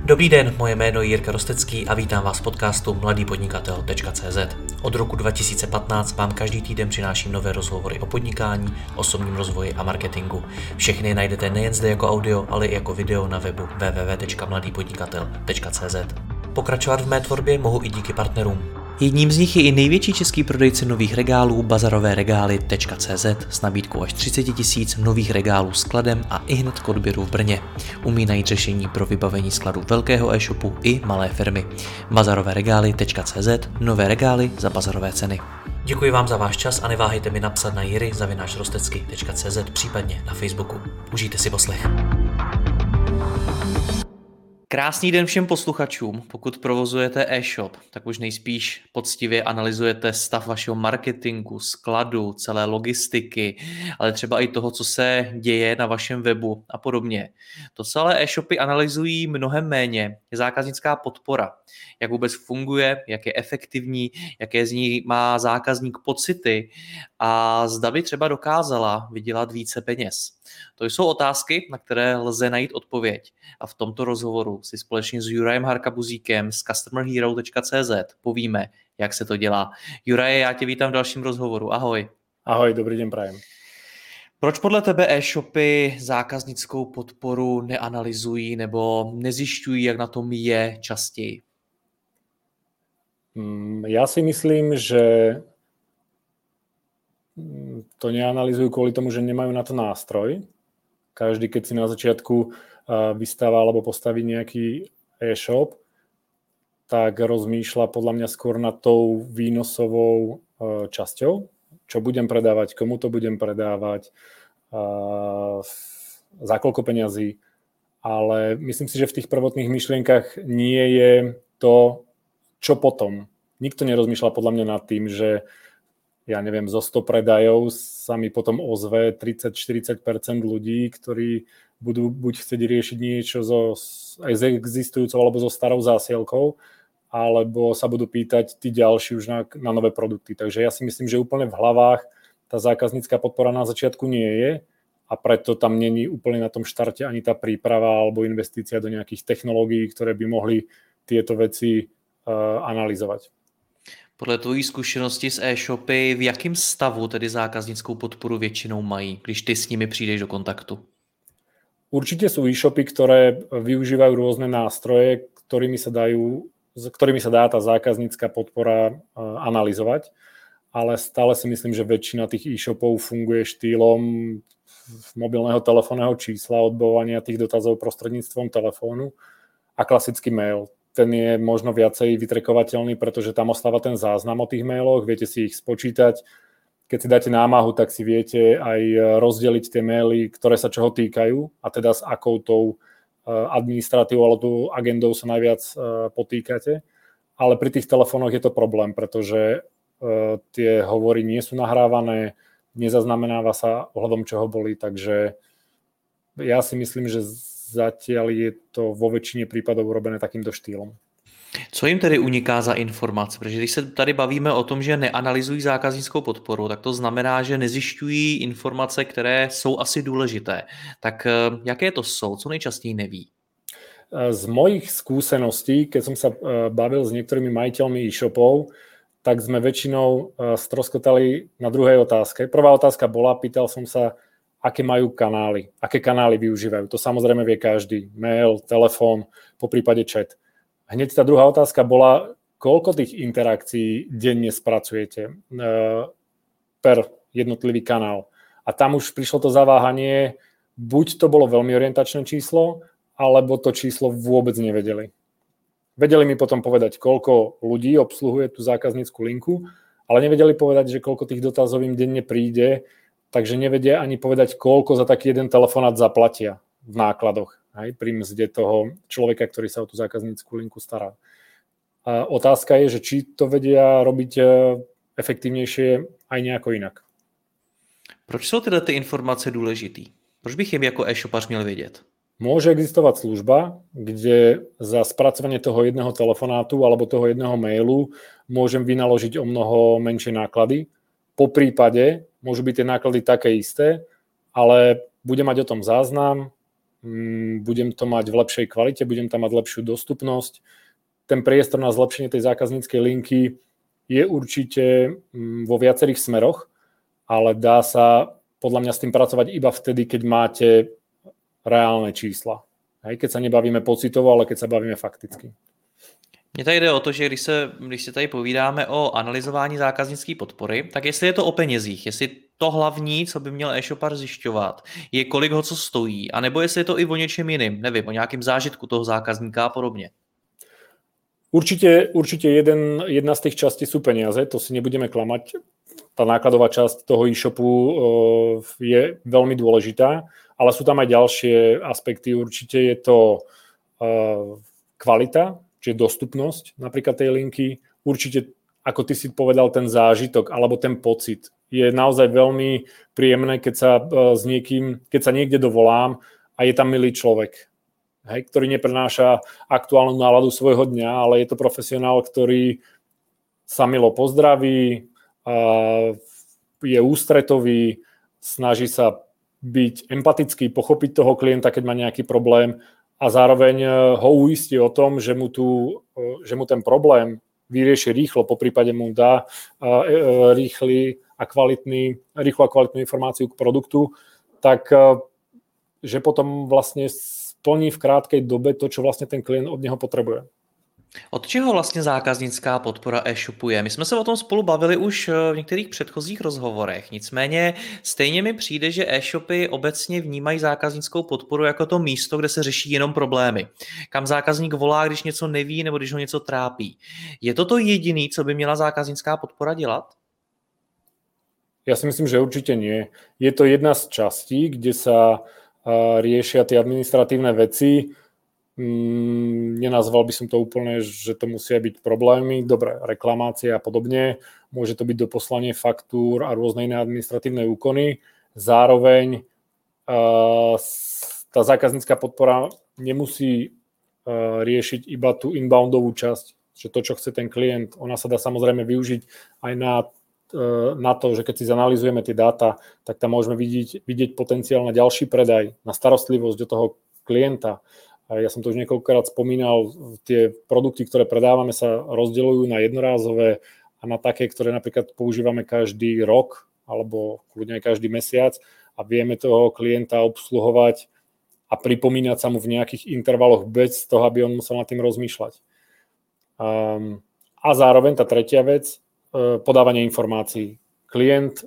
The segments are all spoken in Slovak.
Dobrý den, moje jméno je Jirka Rostecký a vítám vás v podcastu mladýpodnikatel.cz. Od roku 2015 vám každý týden přináším nové rozhovory o podnikání, osobním rozvoji a marketingu. Všechny najdete nejen zde jako audio, ale i jako video na webu www.mladýpodnikatel.cz. Pokračovat v mé tvorbě mohu i díky partnerům. Jedním z nich je i největší český prodejce nových regálů bazaroveregály.cz s nabídkou až 30 000 nových regálů skladem a ihned k odběru v Brně. Umí najít řešení pro vybavení skladu velkého e-shopu i malé firmy. bazaroveregály.cz, nové regály za bazarové ceny. Děkuji vám za váš čas a neváhejte mi napsat na jiry@rostecky.cz, případně na Facebooku. Užijte si poslech. Krásný den všem posluchačům. Pokud provozujete e-shop, tak už nejspíš poctivě analyzujete stav vašeho marketingu, skladu, celé logistiky, ale třeba i toho, co se děje na vašem webu a podobně. To, co ale e-shopy analyzují mnohem méně, je zákaznická podpora. Jak vůbec funguje, jak je efektivní, jaké z ní má zákazník pocity a zda by třeba dokázala vydělat více peněz. To jsou otázky, na které lze najít odpověď. A v tomto rozhovoru si společně s Jurajem Harkabuzíkem z customerhero.cz povíme, jak se to dělá. Juraje, já tě vítám v dalším rozhovoru. Ahoj. Ahoj, dobrý den prajem. Proč podle tebe e-shopy zákaznickou podporu neanalyzují nebo nezjišťují, jak na tom je častěji? Ja si myslím, že to neanalyzujú kvôli tomu, že nemajú na to nástroj. Každý, keď si na začiatku vystáva alebo postaví nejaký e-shop, tak rozmýšľa podľa mňa skôr nad tou výnosovou časťou, čo budem predávať, komu to budem predávať, za koľko peňazí. Ale myslím si, že v tých prvotných myšlienkach nie je to, čo potom. Nikto nerozmýšľa podľa mňa nad tým, že ja neviem, zo 100 predajov sa mi potom ozve 30-40% ľudí, ktorí budú buď chcieť riešiť niečo aj s existujúcou alebo so starou zásielkou, alebo sa budú pýtať tí ďalší už na nové produkty. Takže ja si myslím, že úplne v hlavách tá zákaznícka podpora na začiatku nie je a preto tam není úplne na tom štarte ani tá príprava alebo investícia do nejakých technológií, ktoré by mohli tieto veci analyzovať. Podle tvojí zkušenosti s e-shopy, v jakém stavu tedy zákaznickou podporu většinou mají, když ty s nimi přijdeš do kontaktu? Určite sú e-shopy, ktoré využívajú rôzne nástroje, ktorými sa dá tá zákaznícka podpora analyzovať, ale stále si myslím, že väčšina tých e-shopov funguje štýlom mobilného telefónneho čísla, odbavovania tých dotazov prostredníctvom telefónu a klasický mail. Ten je možno viacej vytrekovateľný, pretože tam ostáva ten záznam o tých mailoch, viete si ich spočítať. Keď si dáte námahu, tak si viete aj rozdeliť tie maily, ktoré sa čoho týkajú a teda s akou tou administratívou alebo agendou sa najviac potýkate. Ale pri tých telefónoch je to problém, pretože tie hovory nie sú nahrávané, nezaznamenáva sa ohľadom čoho boli, takže ja si myslím, že zatiaľ je to vo väčšine prípadov urobené takýmto štýlom. Co jim tedy uniká za informace? Protože když se tady bavíme o tom, že neanalyzují zákaznickou podporu, tak to znamená, že nezjišťují informace, které jsou asi důležité. Tak jaké to jsou? Co nejčastěji neví? Z mojich skúseností, keď som sa bavil s niektorými majiteľmi e-shopov, tak sme väčšinou stroskotali na druhej otázke. Prvá otázka bola, pýtal som sa, aké majú kanály, aké kanály využívajú. To samozrejme vie každý. Mail, telefón, poprípade chat. Hneď tá druhá otázka bola, koľko tých interakcií denne spracujete per jednotlivý kanál. A tam už prišlo to zaváhanie, buď to bolo veľmi orientačné číslo, alebo to číslo vôbec nevedeli. Vedeli mi potom povedať, koľko ľudí obsluhuje tú zákaznícku linku, ale nevedeli povedať, že koľko tých dotazov im denne príde, takže nevedia ani povedať, koľko za taký jeden telefonát zaplatia v nákladoch, aj pri mzde toho človeka, ktorý sa o tú zákaznícku linku stará. A otázka je, že či to vedia robiť efektívnejšie aj nejako inak. Proč jsou tyhle ty informace důležitý? Proč bych jim jako e-shopař měl vědět? Môže existovať služba, kde za spracovanie toho jedného telefonátu alebo toho jedného mailu môžem vynaložiť o mnoho menšie náklady. Po prípade môžu byť tie náklady také isté, ale bude mať o tom záznam, budem to mať v lepšej kvalite, budem tam mať lepšiu dostupnosť. Ten priestor na zlepšenie tej zákazníckej linky je určite vo viacerých smeroch, ale dá sa podľa mňa s tým pracovať iba vtedy, keď máte reálne čísla. Hej, keď sa nebavíme pocitovo, ale keď sa bavíme fakticky. Mně tady jde o to, že když si tady povídáme o analyzování zákaznické podpory, tak jestli je to o penězích, jestli to hlavní, co by měl e-shopar zjišťovat, je kolik ho co stojí, anebo jestli je to i o něčem jiným, nevím, o nějakém zážitku toho zákazníka a podobně. Určite jedna z tých častí sú peniaze, to si nebudeme klamať. Tá nákladová časť toho e-shopu je veľmi dôležitá, ale sú tam aj ďalšie aspekty. Určite je to kvalita, čiže dostupnosť napríklad tej linky. Určite, ako ty si povedal, ten zážitok alebo ten pocit. Je naozaj veľmi príjemné, keď sa niekde dovolám a je tam milý človek, hej, ktorý neprenáša aktuálnu náladu svojho dňa, ale je to profesionál, ktorý sa milo pozdraví, je ústretový, snaží sa byť empatický, pochopiť toho klienta, keď má nejaký problém a zároveň ho uistí o tom, že mu ten problém vyrieši rýchlo, poprípade mu dá rýchlu a kvalitnú informáciu k produktu, tak že potom vlastne splní v krátkej dobe to, čo vlastne ten klient od neho potrebuje. Od čeho vlastně zákaznická podpora e-shopu je? My jsme se o tom spolu bavili už v některých předchozích rozhovorech, nicméně stejně mi přijde, že e-shopy obecně vnímají zákaznickou podporu jako to místo, kde se řeší jenom problémy. Kam zákazník volá, když něco neví nebo když ho něco trápí. Je to jediné, co by měla zákaznická podpora dělat? Ja si myslím, že určite nie. Je to jedna z častí, kde sa riešia tie administratívne veci. Nenazval by som to úplne, že to musia byť problémy, dobre, reklamácie a podobne. Môže to byť doposlanie faktúr a rôzne iné administratívne úkony. Zároveň tá zákaznícka podpora nemusí riešiť iba tú inboundovú časť, že to, čo chce ten klient, ona sa dá samozrejme využiť aj na to, že keď si zanalizujeme tie dáta, tak tam môžeme vidieť potenciál na ďalší predaj, na starostlivosť do toho klienta. Ja som to už niekoľkokrát spomínal, tie produkty, ktoré predávame, sa rozdeľujú na jednorázové a na také, ktoré napríklad používame každý rok alebo kľudne aj každý mesiac a vieme toho klienta obsluhovať a pripomínať sa mu v nejakých intervaloch bez toho, aby on musel nad tým rozmýšľať. A zároveň tá tretia vec, podávanie informácií. Klient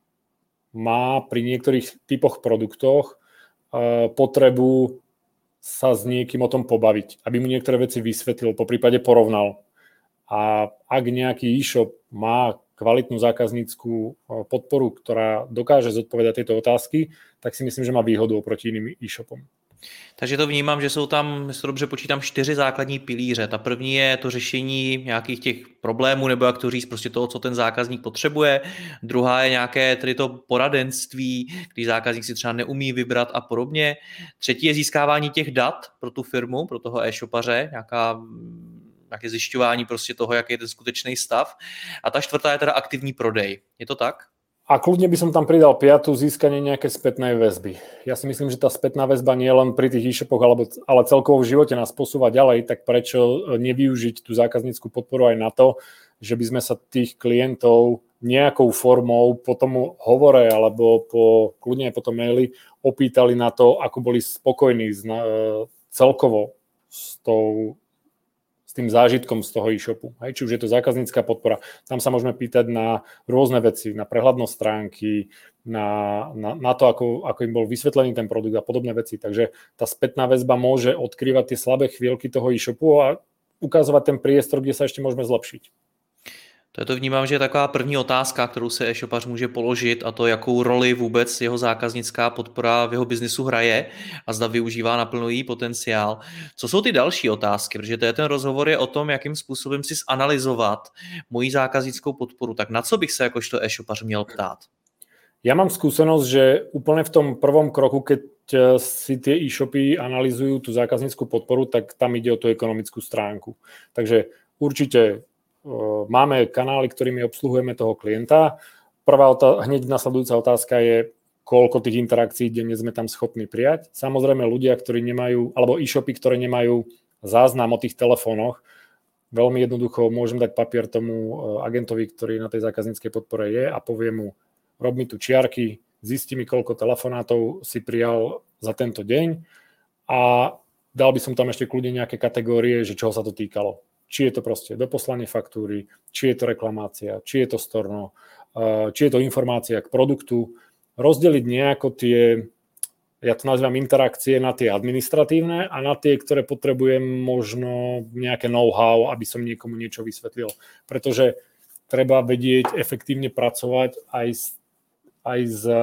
má pri niektorých typoch produktoch potrebu sa s niekým o tom pobaviť, aby mu niektoré veci vysvetlil, poprípade porovnal. A ak nejaký e-shop má kvalitnú zákazníckú podporu, ktorá dokáže zodpovedať tieto otázky, tak si myslím, že má výhodu oproti iným e-shopom. Takže to vnímám, že jsou tam, jestli to dobře počítám, 4 základní pilíře. Ta první je to řešení nějakých těch problémů, nebo jak to říct, prostě toho, co ten zákazník potřebuje. Druhá je nějaké tedy to poradenství, když zákazník si třeba neumí vybrat a podobně. Třetí je získávání těch dat pro tu firmu, pro toho e-shopaře, nějaké zjišťování prostě toho, jaký je ten skutečný stav. A ta čtvrtá je teda aktivní prodej. Je to tak? A kľudne by som tam pridal piatu, získanie nejaké spätnej väzby. Ja si myslím, že tá spätná väzba nie len pri tých e-shopoch, ale celkovo v živote nás posúva ďalej, tak prečo nevyužiť tú zákaznícku podporu aj na to, že by sme sa tých klientov nejakou formou po tomu hovore alebo kľudne aj po tom maili opýtali na to, ako boli spokojní celkovo s tým zážitkom z toho e-shopu. Či už je to zákaznícka podpora. Tam sa môžeme pýtať na rôzne veci, na prehľadnosť stránky, na to, ako im bol vysvetlený ten produkt a podobné veci. Takže tá spätná väzba môže odkrývať tie slabé chvíľky toho e-shopu a ukazovať ten priestor, kde sa ešte môžeme zlepšiť. To vnímám, že je taková první otázka, kterou se e-shopař může položit, a to, jakou roli vůbec jeho zákaznická podpora v jeho biznisu hraje a zda využívá naplno její potenciál. Co jsou ty další otázky? Protože ten rozhovor je o tom, jakým způsobem si zanalyzovat moji zákaznickou podporu. Tak na co bych se jakožto e-shopař měl ptát? Ja mám skúsenosť, že úplne v tom prvom kroku, keď si tie e-shopy analyzujú tú zákaznícku podporu, tak tam ide o tú ekonomickú stránku. Takže určite máme kanály, ktorými obsluhujeme toho klienta. Hneď nasledujúca otázka je, koľko tých interakcií denne sme tam schopní prijať. Samozrejme ľudia, ktorí nemajú, alebo e-shopy, ktoré nemajú záznam o tých telefónoch, veľmi jednoducho môžem dať papier tomu agentovi, ktorý na tej zákazníckej podpore je a poviem mu, rob mi tu čiarky, zisti mi, koľko telefonátov si prijal za tento deň a dal by som tam ešte kľudne nejaké kategórie, že čoho sa to týkalo. Či je to proste doposlanie faktúry, či je to reklamácia, či je to storno, či je to informácia k produktu. Rozdeliť nejako tie, ja to nazývam interakcie, na tie administratívne a na tie, ktoré potrebujem možno nejaké know-how, aby som niekomu niečo vysvetlil. Pretože treba vedieť efektívne pracovať aj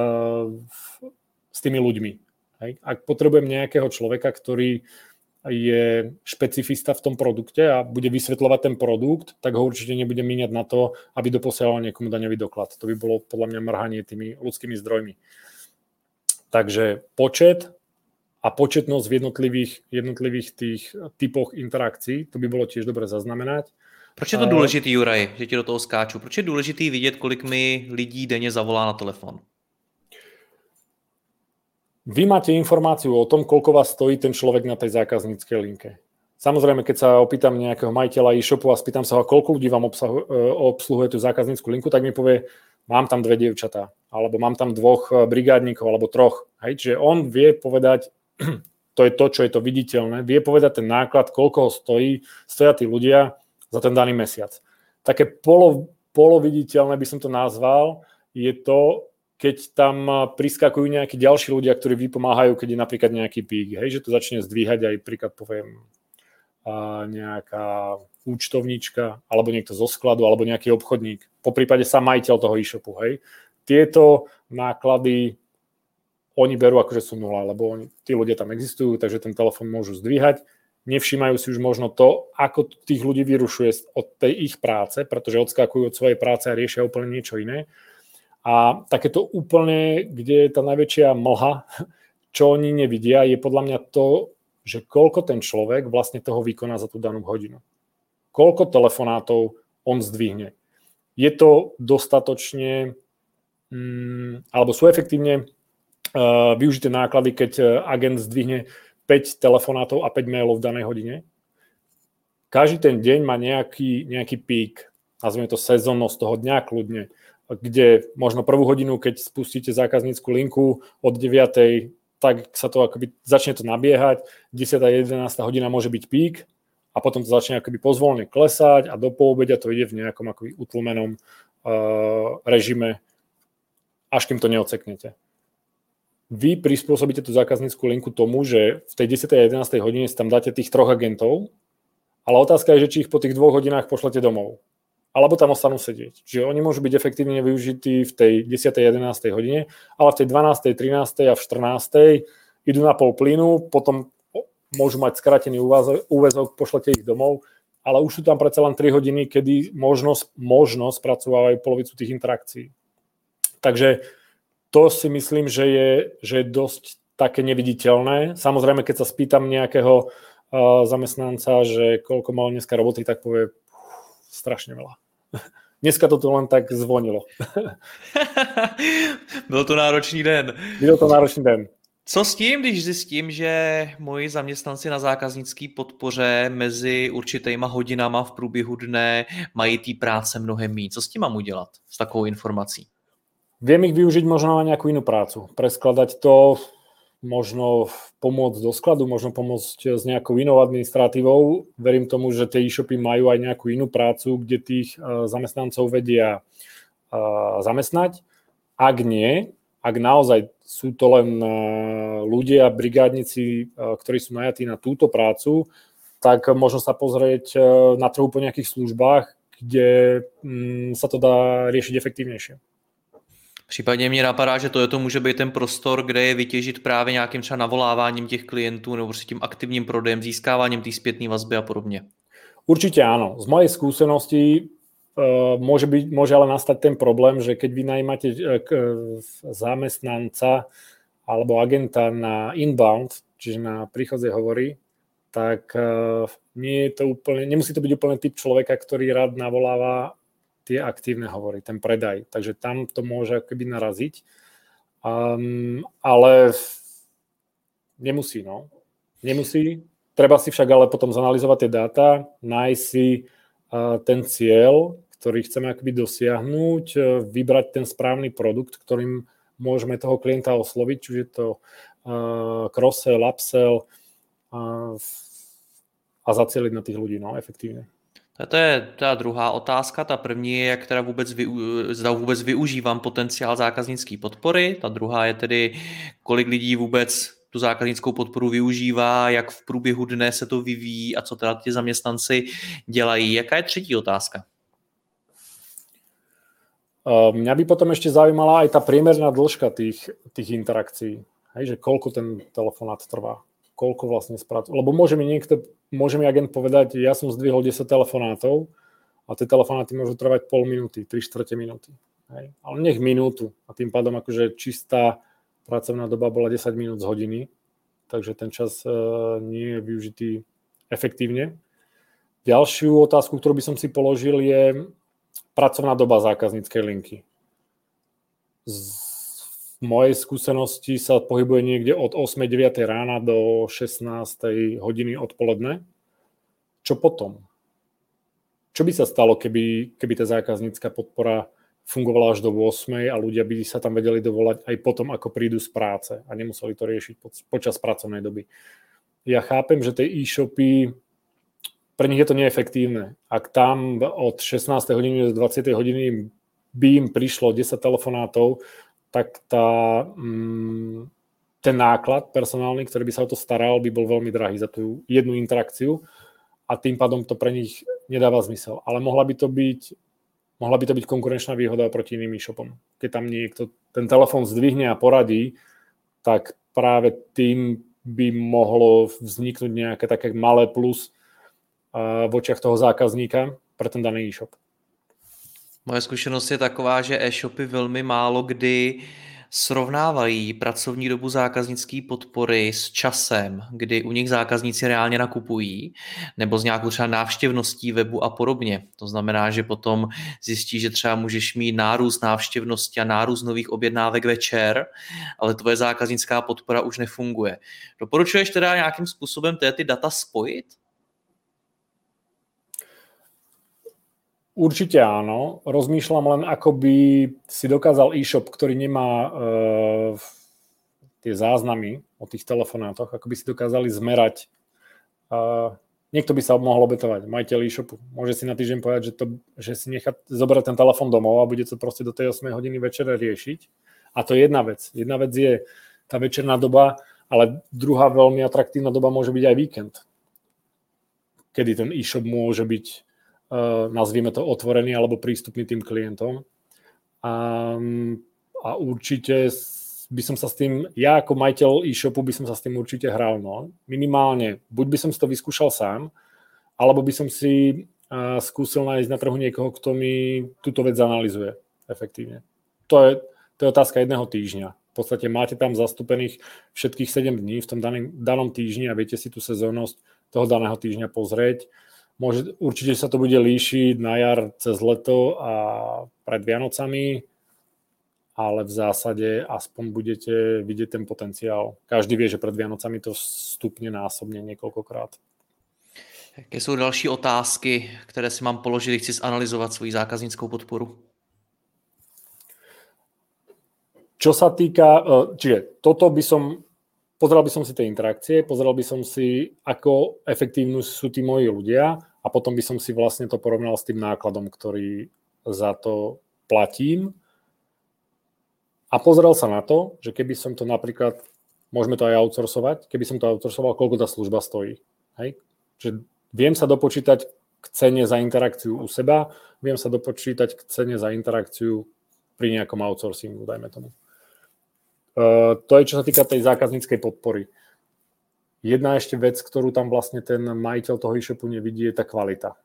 s tými ľuďmi. Hej? Ak potrebujem nejakého človeka, ktorý je špecifista v tom produkte a bude vysvetľovať ten produkt, tak ho určite nebudem míňať na to, aby doposielal niekomu daňový doklad. To by bolo podľa mňa mrhanie tými ľudskými zdrojmi. Takže počet a početnosť v jednotlivých tých typoch interakcií, to by bolo tiež dobre zaznamenať. Proč je to důležitý, Juraj, že ti do toho skáču? Proč je důležitý vidět, kolik mi lidí denně zavolá na telefon? Vy máte informáciu o tom, koľko vás stojí ten človek na tej zákazníckej linke. Samozrejme, keď sa opýtam nejakého majiteľa e-shopu a spýtam sa ho, koľko ľudí vám obsluhuje tú zákaznícku linku, tak mi povie, mám tam 2 dievčatá, alebo mám tam 2 brigádnikov, alebo 3. Hej? Čiže on vie povedať, to je to, čo je to viditeľné, vie povedať ten náklad, koľko ho stoja tí ľudia za ten daný mesiac. Také poloviditeľné by som to nazval, je to, keď tam priskakujú nejakí ďalší ľudia, ktorí vypomáhajú, keď je napríklad nejaký pík, hej, že to začne zdvíhať aj príklad poviem nejaká účtovníčka, alebo niekto zo skladu, alebo nejaký obchodník, po prípade sám majiteľ toho e-shopu, hej. Tieto náklady oni berú akože sú 0, lebo tí ľudia tam existujú, takže ten telefón môžu zdvíhať. Nevšímajú si už možno to, ako tých ľudí vyrušuje od tej ich práce, pretože odskakujú od svojej práce a riešia úplne niečo iné. A takéto úplne, kde je tá najväčšia mlha, čo oni nevidia, je podľa mňa to, že koľko ten človek vlastne toho vykoná za tú danú hodinu. Koľko telefonátov on zdvihne. Je to dostatočne, alebo sú efektívne využité náklady, keď agent zdvihne 5 telefonátov a 5 mailov v danej hodine. Každý ten deň má nejaký pík, nazvime to sezónnosť toho dňa kľudne, kde možno prvú hodinu, keď spustíte zákaznícku linku od 9, tak sa to akoby začne to nabiehať, 10. a 11. hodina môže byť pík a potom to začne akoby pozvolne klesať a do poobedia to ide v nejakom akoby utlmenom režime, až kým to neodseknete. Vy prispôsobíte tú zákaznícku linku tomu, že v tej 10. a 11. hodine si tam dáte tých 3 agentov, ale otázka je, že či ich po tých 2 hodinách pošlete domov. Alebo tam ostanú sedieť. Čiže oni môžu byť efektívne využití v tej 10. a 11. hodine, ale v tej 12., 13. a v 14. idú na pol plynu, potom môžu mať skrátený úväzok, pošlete ich domov, ale už sú tam predsa len 3 hodiny, kedy možno spracovávajú polovicu tých interakcií. Takže to si myslím, že je dosť také neviditeľné. Samozrejme, keď sa spýtam nejakého zamestnanca, že koľko mal dneska roboty, tak povie strašne veľa. Dneska to tu len tak zvonilo. Byl to náročný den. Byl to náročný den. Co s tím, když zjistím, že moji zaměstnanci na zákaznické podpoře mezi určitýma hodinama v průběhu dne mají té práce mnohem méně? Co s tím mám udělat s takovou informací? Viem ich využiť možno na nejakú inú prácu. Preskladať to, možno pomôcť do skladu, možno pomôcť s nejakou inou administratívou. Verím tomu, že tie e-shopy majú aj nejakú inú prácu, kde tých zamestnancov vedia zamestnať. Ak nie, ak naozaj sú to len ľudia, brigádnici, ktorí sú najatí na túto prácu, tak možno sa pozrieť na trhu po nejakých službách, kde sa to dá riešiť efektívnejšie. Případně mě napadá, že to může být ten prostor, kde je vytěžit právě nějakým třeba navoláváním těch klientů nebo prostě tím aktivním prodejem, získáváním té zpětné vazby a podobně. Určite áno. Z mojej skúsenosti môže ale nastať ten problém, že keď vy najímate zamestnanca alebo agenta na inbound, čiže na príchodzie hovory, tak nemusí to byť úplne typ človeka, ktorý rád navoláva tie aktívne hovory, ten predaj. Takže tam to môže akoby naraziť. Ale nemusí, no. Nemusí. Treba si však ale potom zanalyzovať tie dáta, nájsť si ten cieľ, ktorý chceme akoby dosiahnuť, vybrať ten správny produkt, ktorým môžeme toho klienta osloviť, čiže je to cross-sell, upsell a zacieliť na tých ľudí, no, efektívne. To je ta druhá otázka. Ta první je, jak teda zda vůbec využívám potenciál zákaznické podpory. Ta druhá je tedy, kolik lidí vůbec tu zákaznickou podporu využívá, jak v průběhu dne se to vyvíjí a co teda ti zaměstnanci dělají. Jaká je třetí otázka? Mňa by potom ešte zaujímala aj tá priemerná dĺžka tých interakcií. Hej, že koľko ten telefonát trvá. Koľko vlastne spracuje. Lebo môže mi agent povedať, ja som zdvihol 10 telefonátov a tie telefonáty môžu trvať pol minúty, 3/4 minúty. Hej. Ale nech minútu. A tým pádom akože čistá pracovná doba bola 10 minút z hodiny, takže ten čas nie je využitý efektívne. Ďalšiu otázku, ktorú by som si položil, je pracovná doba zákazníckej linky. V mojej skúsenosti sa pohybuje niekde od 8-9 rána do 16 hodiny odpoledne. Čo potom? Čo by sa stalo, keby tá zákaznícka podpora fungovala až do 8 a ľudia by sa tam vedeli dovolať aj potom, ako prídu z práce a nemuseli to riešiť počas pracovnej doby. Ja chápem, že tie e-shopy, pre nich je to neefektívne. Ak tam od 16 hodiny do 20 hodiny by im prišlo 10 telefonátov, tak ten náklad personálny, ktorý by sa o to staral, by bol veľmi drahý za tú jednu interakciu a tým pádom to pre nich nedáva zmysel. Ale mohla by to byť konkurenčná výhoda proti iným e-shopom. Keď tam niekto ten telefón zdvihne a poradí, tak práve tým by mohlo vzniknúť nejaké také malé plus v očiach toho zákazníka pre ten daný e-shop. Moje zkušenost je taková, že e-shopy velmi málo kdy srovnávají pracovní dobu zákaznické podpory s časem, kdy u nich zákazníci reálně nakupují, nebo s nějakou třeba návštěvností webu a podobně. To znamená, že potom zjistí, že třeba můžeš mít nárůst návštěvnosti a nárůst nových objednávek večer, ale tvoje zákaznická podpora už nefunguje. Doporučuješ teda nějakým způsobem ty data spojit? Určite áno. Rozmýšľam len, ako by si dokázal e-shop, ktorý nemá tie záznamy o tých telefonátoch, ako by si dokázali zmerať. Niekto by sa mohol obetovať, majiteľ e-shopu. Môže si na týždeň povedať, že si nechá zobrať ten telefon domov a bude to proste do tej 8 hodiny večera riešiť. A to je jedna vec. Jedna vec je tá večerná doba, ale druhá veľmi atraktívna doba môže byť aj víkend, kedy ten e-shop môže byť nazvime to otvorený alebo prístupný tým klientom. A určite by som sa s tým, ja ako majiteľ e-shopu by som sa s tým určite hral. No. Minimálne, buď by som si to vyskúšal sám, alebo by som si skúsil nájsť na trhu niekoho, kto mi túto vec analyzuje efektívne. To je otázka jedného týždňa. V podstate máte tam zastúpených všetkých 7 dní v tom danom týždni a viete si tú sezónnosť toho daného týždňa pozrieť. Určite sa to bude líšiť na jar cez leto a pred Vianocami, ale v zásade aspoň budete vidieť ten potenciál. Každý vie, že pred Vianocami to stupne násobne niekoľkokrát. Jaké jsou další otázky, které si mám položit, chci zanalyzovat svoji zákaznickou podporu? Čo sa týka, čiže toto pozeral by som si tie interakcie, pozeral by som si, ako efektívni sú tí moji ľudia a potom by som si vlastne to porovnal s tým nákladom, ktorý za to platím. A pozeral sa na to, že keby som to napríklad, môžeme to aj outsourcovať, keby som to outsourcoval, koľko tá služba stojí. Hej? Čiže viem sa dopočítať k cene za interakciu u seba, viem sa dopočítať k cene za interakciu pri nejakom outsourcingu, dajme tomu. To je, čo sa týka tej zákazníckej podpory. Jedna ešte vec, ktorú tam vlastne ten majiteľ toho e-shopu nevidí, je tá kvalita.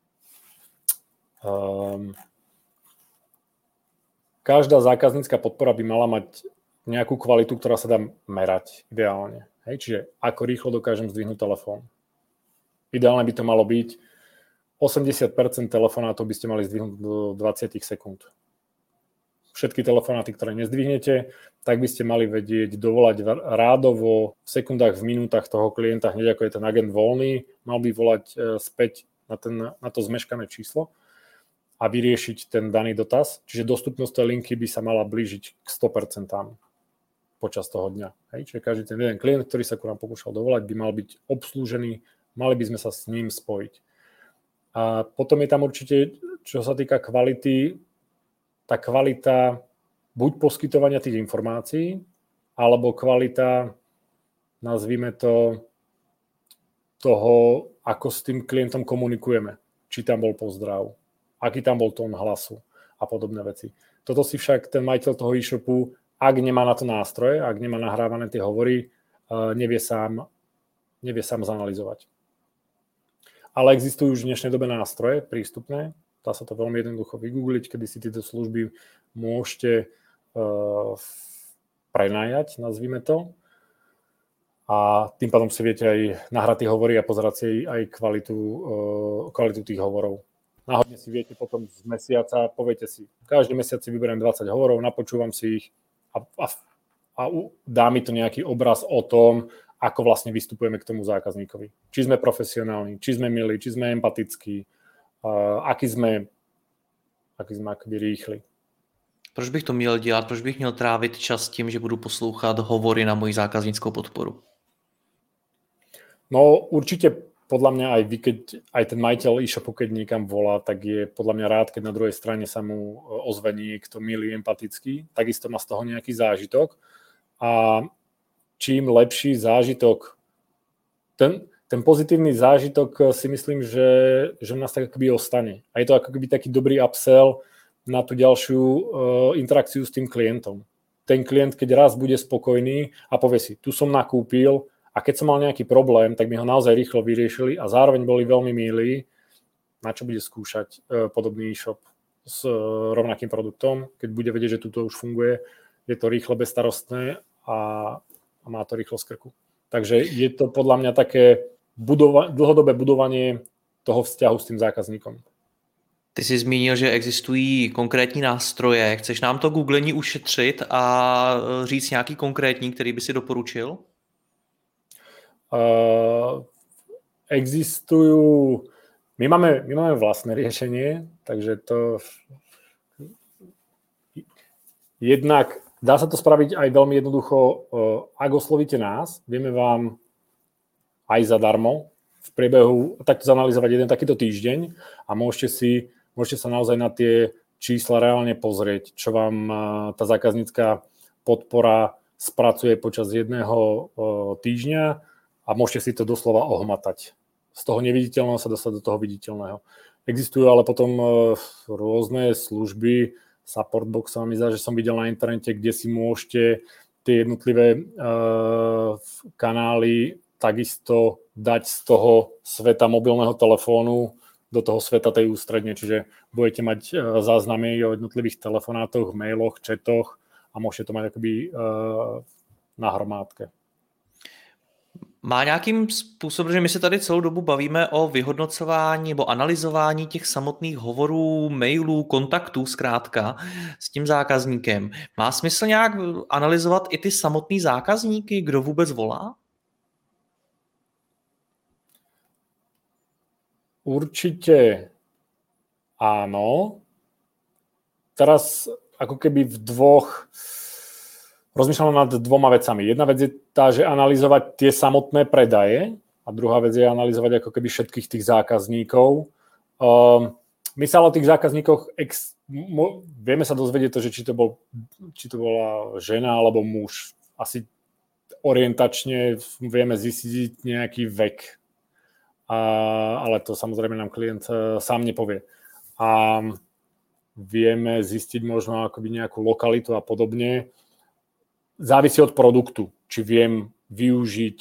Každá zákaznícka podpora by mala mať nejakú kvalitu, ktorá sa dá merať ideálne. Hej? Čiže ako rýchlo dokážem zdvihnúť telefón. Ideálne by to malo byť 80% telefonátov by ste mali zdvihnúť do 20 sekúnd. všetky telefonáty, ktoré nezdvihnete, tak by ste mali vedieť dovolať rádovo v sekundách, v minútach toho klienta, hneď ako je ten agent voľný, mal by volať späť na to zmeškané číslo a vyriešiť ten daný dotaz. Čiže dostupnosť tej linky by sa mala blížiť k 100% počas toho dňa. Hej? Čiže každý ten jeden klient, ktorý sa ku nám pokúšal dovolať, by mal byť obslúžený, mali by sme sa s ním spojiť. A potom je tam určite, čo sa týka kvality, tá kvalita buď poskytovania tých informácií, alebo kvalita, nazvime to, toho, ako s tým klientom komunikujeme. Či tam bol pozdrav, aký tam bol tón hlasu a podobné veci. Toto si však ten majiteľ toho e-shopu, ak nemá na to nástroje, ak nemá nahrávané tie hovory, nevie sám zanalyzovať. Ale existujú už v dnešnej dobe nástroje prístupné, dá sa to veľmi jednoducho vygoogliť, kedy si tieto služby môžete prenajať, nazvime to. A tým pádom si viete aj nahrať tie hovory a pozerať si aj kvalitu tých hovorov. Náhodne si viete potom z mesiaca, poviete si, každý mesiac si vyberiem 20 hovorov, napočúvam si ich a dá mi to nejaký obraz o tom, ako vlastne vystupujeme k tomu zákazníkovi. Či sme profesionálni, či sme milí, či sme empatickí, aký sme akoby rýchli. Proč bych to měl dělat? Proč bych měl trávit čas tím, že budu poslouchat hovory na moji zákazníckou podporu? No určite podľa mňa aj ten majiteľ e-shopu, keď niekam volá, tak je podľa mňa rád, keď na druhej strane sa mu ozve niekto milý, empatický, takisto má z toho nejaký zážitok. A čím lepší zážitok, ten pozitívny zážitok si myslím, že u nás tak akoby ostane. A je to ako keby taký dobrý upsell na tú ďalšiu interakciu s tým klientom. Ten klient, keď raz bude spokojný a povie si, tu som nakúpil a keď som mal nejaký problém, tak mi ho naozaj rýchlo vyriešili a zároveň boli veľmi milí, na čo bude skúšať podobný e-shop s rovnakým produktom, keď bude vedieť, že tuto už funguje, je to rýchle, bezstarostné a má to rýchlo z krku. Takže je to podľa mňa také dlhodobé budovanie toho vzťahu s tým zákazníkom. Ty jsi zmínil, že existují konkrétní nástroje. Chceš nám to googlení ušetřit a říct nějaký konkrétní, který by si doporučil? Existujú... My máme vlastné riešenie, takže to... Jednak dá sa to spraviť aj veľmi jednoducho. Ak oslovíte nás, vieme vám aj zadarmo v priebehu takto zanalizovať jeden takýto týždeň a môžete sa naozaj na tie čísla reálne pozrieť, čo vám tá zákaznícka podpora spracuje počas jedného týždňa a môžete si to doslova ohmatať. Z toho neviditeľného sa dostať do toho viditeľného. Existujú ale potom rôzne služby, Supportbox sa mi zdá, že som videl na internete, kde si môžete tie jednotlivé kanály takisto dať z toho sveta mobilného telefónu do toho sveta tej ústredne, čiže budete mať záznamy o jednotlivých telefonátoch, mailoch, chatoch a môžete to mať akoby na hromádke. Má nějakým způsobem, že my se tady celou dobu bavíme o vyhodnocování nebo analyzování těch samotných hovorů, mailů, kontaktů zkrátka s tím zákazníkem. Má smysl nějak analyzovat i ty samotný zákazníky, kdo vůbec volá? Určite áno. Teraz ako keby rozmýšľam nad dvoma vecami. Jedna vec je tá, že analyzovať tie samotné predaje a druhá vec je analyzovať ako keby všetkých tých zákazníkov. My sa o tých zákazníkoch vieme sa dozvedieť to, že či to bola žena alebo muž. Asi orientačne vieme zistiť nejaký vek. Ale to samozrejme nám klient sám nepovie. A vieme zistiť možno akoby nejakú lokalitu a podobne. Závisí od produktu, či viem využiť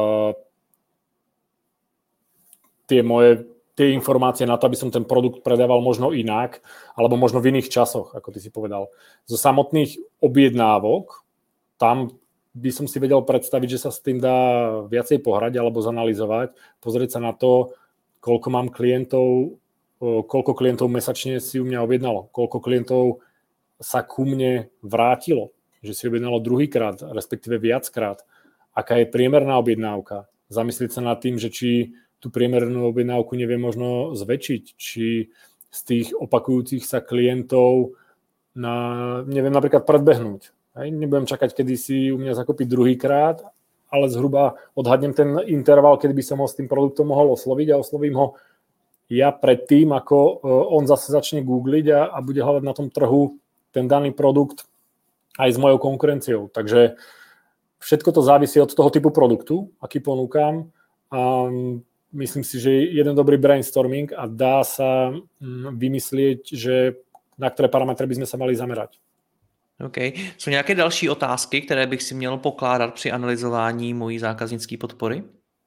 tie informácie na to, aby som ten produkt predával možno inak, alebo možno v iných časoch, ako ty si povedal. Zo samotných objednávok, tam by som si vedel predstaviť, že sa s tým dá viacej pohrať alebo zanalyzovať, pozrieť sa na to, koľko klientov mesačne si u mňa objednalo, koľko klientov sa ku mne vrátilo, že si objednalo druhýkrát, respektíve viackrát, aká je priemerná objednávka. Zamyslieť sa nad tým, že či tú priemernú objednávku nevie možno zväčšiť, či z tých opakujúcich sa klientov neviem napríklad predbehnúť. Nebudem čakať, kedy si u mňa zakúpiť druhýkrát, ale zhruba odhadnem ten interval, kedy by som ho s tým produktom mohol osloviť a oslovím ho ja predtým, ako on zase začne googliť a bude hľadať na tom trhu ten daný produkt aj s mojou konkurenciou. Takže všetko to závisí od toho typu produktu, aký ponúkam. A myslím si, že je jeden dobrý brainstorming a dá sa vymyslieť, že na které parametry bychom se mali zamerať. OK. Jsou nějaké další otázky, které bych si měl pokládat při analyzování mojí zákaznické podpory?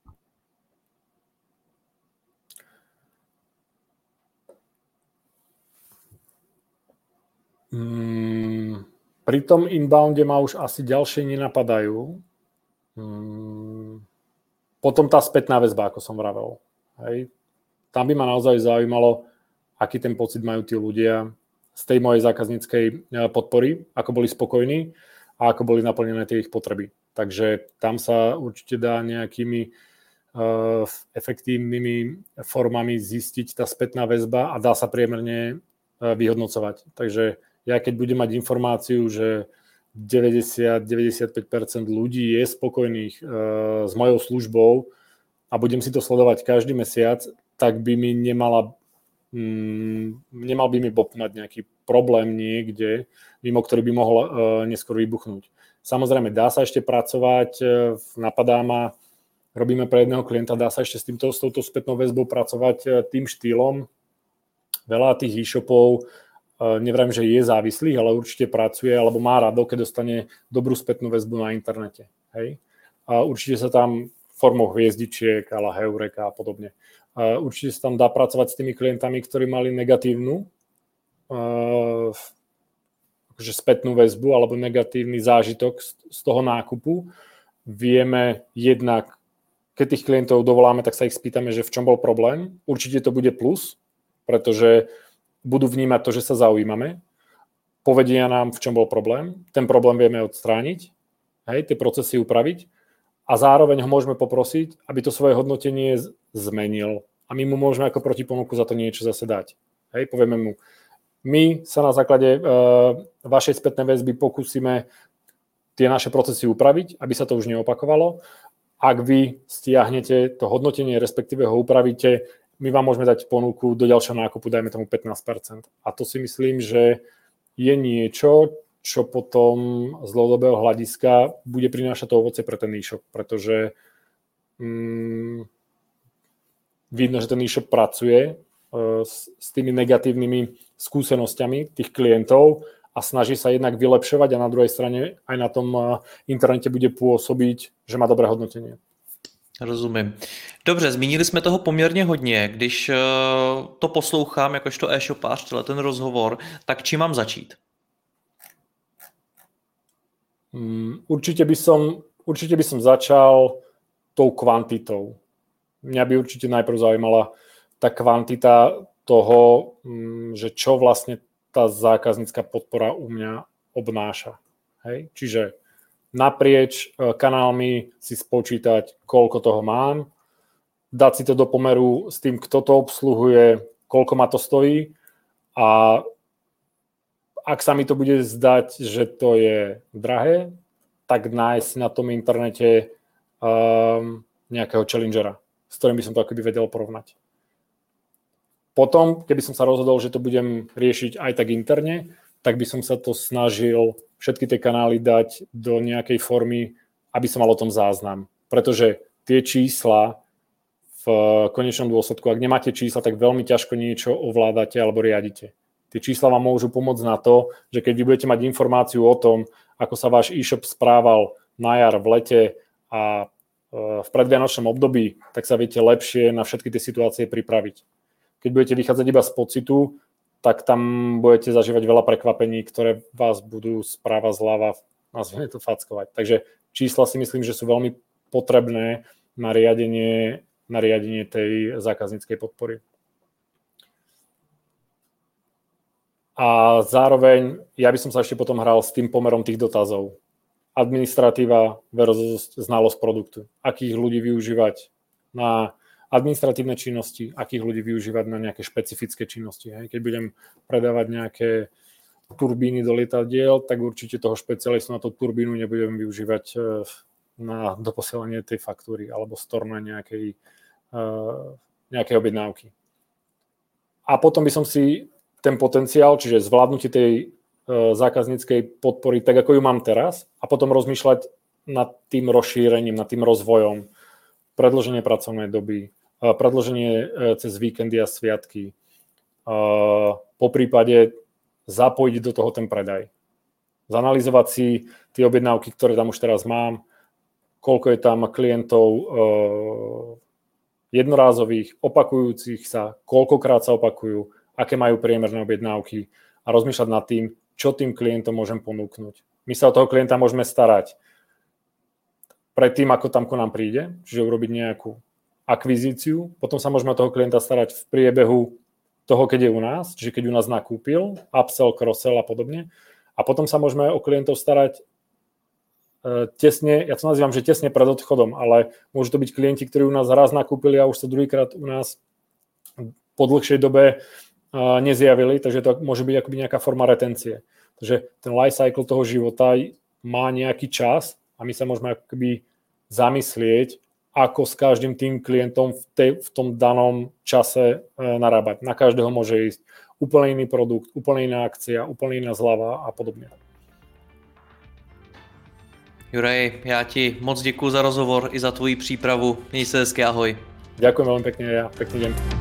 Pri tom inbounde ma už asi ďalšie nenapadajú. Potom tá spätná väzba, ako som vravel. Hej. Tam by ma naozaj zaujímalo, aký ten pocit majú tí ľudia z tej mojej zákazníckej podpory, ako boli spokojní a ako boli naplnené tie ich potreby. Takže tam sa určite dá nejakými efektívnymi formami zistiť tá spätná väzba a dá sa priemerne vyhodnocovať. Takže ja keď budem mať informáciu, že 90-95% ľudí je spokojných s mojou službou a budem si to sledovať každý mesiac, tak by mi nemal by mi bopnať nejaký problém niekde, mimo ktorý by mohol neskôr vybuchnúť. Samozrejme, dá sa ešte pracovať, napadá ma, robíme pre jedného klienta, dá sa ešte s touto spätnou väzbou pracovať tým štýlom. Veľa tých e-shopov, neviem, že je závislých, ale určite pracuje, alebo má rado, keď dostane dobrú spätnú väzbu na internete. Hej? A určite sa tam formou hviezdičiek, ale Heureka a podobne. Určite sa tam dá pracovať s tými klientami, ktorí mali negatívnu spätnú väzbu alebo negatívny zážitok z toho nákupu. Vieme jednak, keď tých klientov dovoláme, tak sa ich spýtame, že v čom bol problém. Určite to bude plus, pretože budú vnímať to, že sa zaujímame. Povedia nám, v čom bol problém. Ten problém vieme odstrániť, hej, tie procesy upraviť. A zároveň ho môžeme poprosiť, aby to svoje hodnotenie zmenil. A my mu môžeme ako protiponuku za to niečo zase dať. Hej, povieme mu, my sa na základe vašej spätnej väzby pokúsime tie naše procesy upraviť, aby sa to už neopakovalo. Ak vy stiahnete to hodnotenie, respektíve ho upravíte, my vám môžeme dať ponuku do ďalšieho nákupu, dajme tomu 15%. A to si myslím, že je niečo, čo potom z dlhodobého hľadiska bude prinášať to ovocie pre ten e-shop, pretože vidno, že ten e-shop pracuje s tými negatívnymi skúsenosťami tých klientov a snaží sa jednak vylepšovať a na druhej strane aj na tom internete bude pôsobiť, že má dobré hodnotenie. Rozumím. Dobře, zmínili jsme toho poměrně hodně. Když to poslouchám jakožto e-shopář, ten rozhovor, tak čím mám začít? Určite by som začal tou kvantitou. Mňa by určite najprv zaujímala tá kvantita toho, že čo vlastne tá zákaznícka podpora u mňa obnáša. Hej? Čiže naprieč kanálmi si spočítať, koľko toho mám, dať si to do pomeru s tým, kto to obsluhuje, koľko ma to stojí a ak sa mi to bude zdať, že to je drahé, tak nájsť na tom internete nejakého challengera, s ktorým by som to akoby vedel porovnať. Potom, keby som sa rozhodol, že to budem riešiť aj tak interne, tak by som sa to snažil všetky tie kanály dať do nejakej formy, aby som mal o tom záznam. Pretože tie čísla v konečnom dôsledku, ak nemáte čísla, tak veľmi ťažko niečo ovládate alebo riadite. Tie čísla vám môžu pomôcť na to, že keď vy budete mať informáciu o tom, ako sa váš e-shop správal na jar, v lete a v predvianočnom období, tak sa viete lepšie na všetky tie situácie pripraviť. Keď budete vychádzať iba z pocitu, tak tam budete zažívať veľa prekvapení, ktoré vás budú správa zľava, nazvime to, fackovať. Takže čísla si myslím, že sú veľmi potrebné na riadenie, tej zákazníckej podpory. A zároveň ja by som sa ešte potom hral s tým pomerom tých dotazov. Administratíva versus znalosť produktu. Akých ľudí využívať na administratívne činnosti, akých ľudí využívať na nejaké špecifické činnosti. Hej. Keď budem predávať nejaké turbíny do lietadiel, tak určite toho špecialistu na tú turbínu nebudem využívať na doposielanie tej faktúry alebo storna nejakej objednávky. A potom by som si ten potenciál, čiže zvládnutie tej zákazníckej podpory, tak ako ju mám teraz, a potom rozmýšľať nad tým rozšírením, nad tým rozvojom, predĺženie pracovnej doby, predĺženie cez víkendy a sviatky, po prípade zapojiť do toho ten predaj. Zanalyzovať si tie objednávky, ktoré tam už teraz mám, koľko je tam klientov jednorázových, opakujúcich sa, koľkokrát sa opakujú, aké majú priemerné objednávky a rozmýšľať nad tým, čo tým klientom môžem ponúknuť. My sa o toho klienta môžeme starať predtým, ako tam ku nám príde, čiže urobiť nejakú akvizíciu, potom sa môžeme o toho klienta starať v priebehu toho, keď je u nás, čiže keď u nás nakúpil, upsell, cross-sell a podobne. A potom sa môžeme o klientov starať tesne, ja to nazývam, že tesne pred odchodom, ale môžu to byť klienti, ktorí u nás raz nakúpili a už sa druhýkrát u nás po dlhšej dobe nezjavili, takže to môže byť akoby nejaká forma retencie. Takže ten life cycle toho života má nejaký čas a my sa môžeme akoby zamyslieť, ako s každým tým klientom v tom danom čase narábať. Na každého môže ísť úplne iný produkt, úplne iná akcia, úplne iná zľava a podobne. Juraj, já ti moc děkuji za rozhovor i za tvoji přípravu. Měj se hezky, ahoj. Ďakujem veľmi pekne, ja pekný deň.